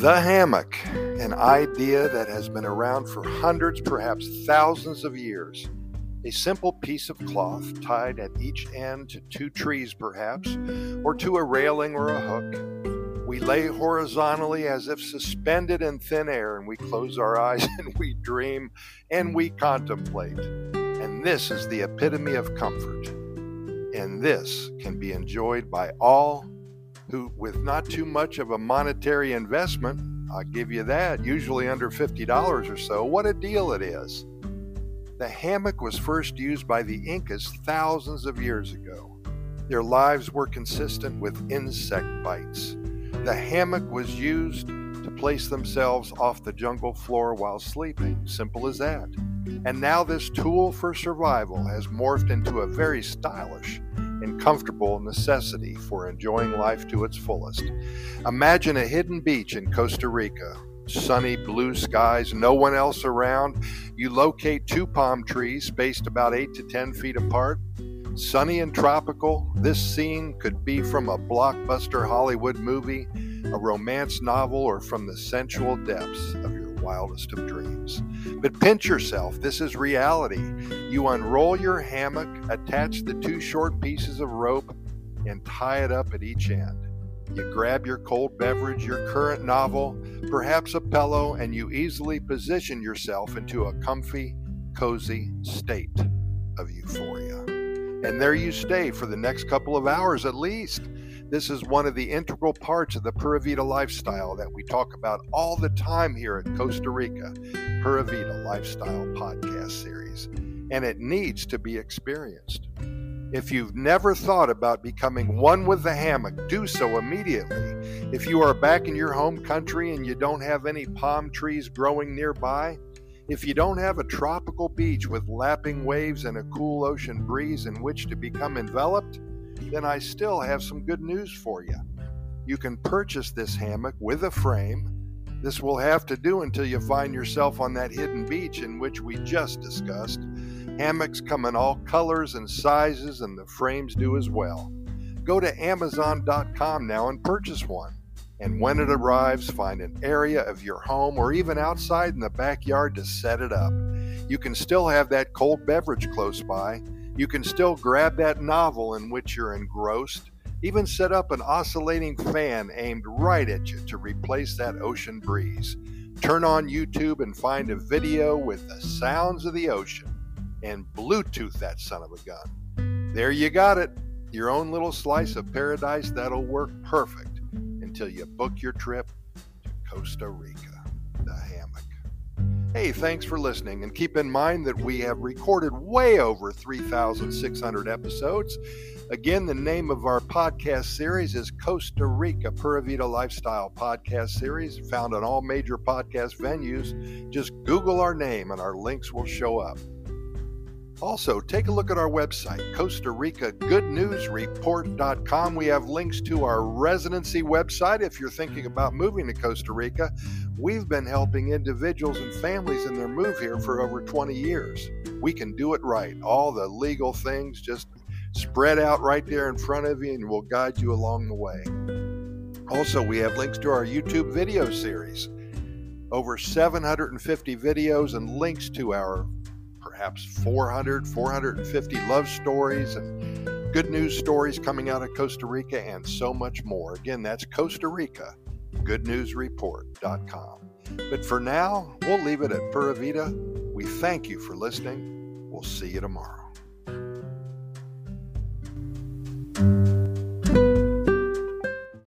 The hammock, an idea that has been around for hundreds, perhaps thousands of years. A simple piece of cloth tied at each end to two trees perhaps, or to a railing or a hook. We lay horizontally as if suspended in thin air, and we close our eyes and we dream and we contemplate. And this is the epitome of comfort. And this can be enjoyed by all who, with not too much of a monetary investment, I'll give you that, usually under $50 or so, what a deal it is. The hammock was first used by the Incas thousands of years ago. Their lives were consistent with insect bites. The hammock was used to place themselves off the jungle floor while sleeping. Simple as that. And now this tool for survival has morphed into a very stylish and comfortable necessity for enjoying life to its fullest. Imagine a hidden beach in Costa Rica. Sunny blue skies, no one else around. You locate two palm trees spaced about 8 to 10 feet apart. Sunny and tropical, this scene could be from a blockbuster Hollywood movie, a romance novel, or from the sensual depths of your wildest of dreams. But pinch yourself, this is reality. You unroll your hammock, attach the two short pieces of rope, and tie it up at each end. You grab your cold beverage, your current novel, perhaps a pillow, and you easily position yourself into a comfy, cozy state of euphoria. And there you stay for the next couple of hours at least. This is one of the integral parts of the Pura Vida lifestyle that we talk about all the time here at Costa Rica, Pura Vida Lifestyle Podcast Series. And it needs to be experienced. If you've never thought about becoming one with the hammock, do so immediately. If you are back in your home country and you don't have any palm trees growing nearby, if you don't have a tropical beach with lapping waves and a cool ocean breeze in which to become enveloped, then I still have some good news for you. You can purchase this hammock with a frame. This will have to do until you find yourself on that hidden beach in which we just discussed. Hammocks come in all colors and sizes, and the frames do as well. Go to Amazon.com now and purchase one. And when it arrives, find an area of your home or even outside in the backyard to set it up. You can still have that cold beverage close by. You can still grab that novel in which you're engrossed. Even set up an oscillating fan aimed right at you to replace that ocean breeze. Turn on YouTube and find a video with the sounds of the ocean and Bluetooth that son of a gun. There you got it. Your own little slice of paradise that'll work perfect until you book your trip to Costa Rica, the hammock. Hey, thanks for listening, and keep in mind that we have recorded way over 3,600 episodes. Again, the name of our podcast series is Costa Rica Pura Vida Lifestyle Podcast Series, found on all major podcast venues. Just Google our name and our links will show up. Also, take a look at our website, Costa Rica Good News Report.com. We have links to our residency website if you're thinking about moving to Costa Rica. We've been helping individuals and families in their move here for over 20 years. We can do it right. All the legal things just spread out right there in front of you, and we'll guide you along the way. Also, we have links to our YouTube video series. Over 750 videos and links to our perhaps 450 love stories and good news stories coming out of Costa Rica, and so much more. Again, that's Costa Rica GoodNewsReport.com. But for now, we'll leave it at Pura Vida. We thank you for listening. We'll see you tomorrow.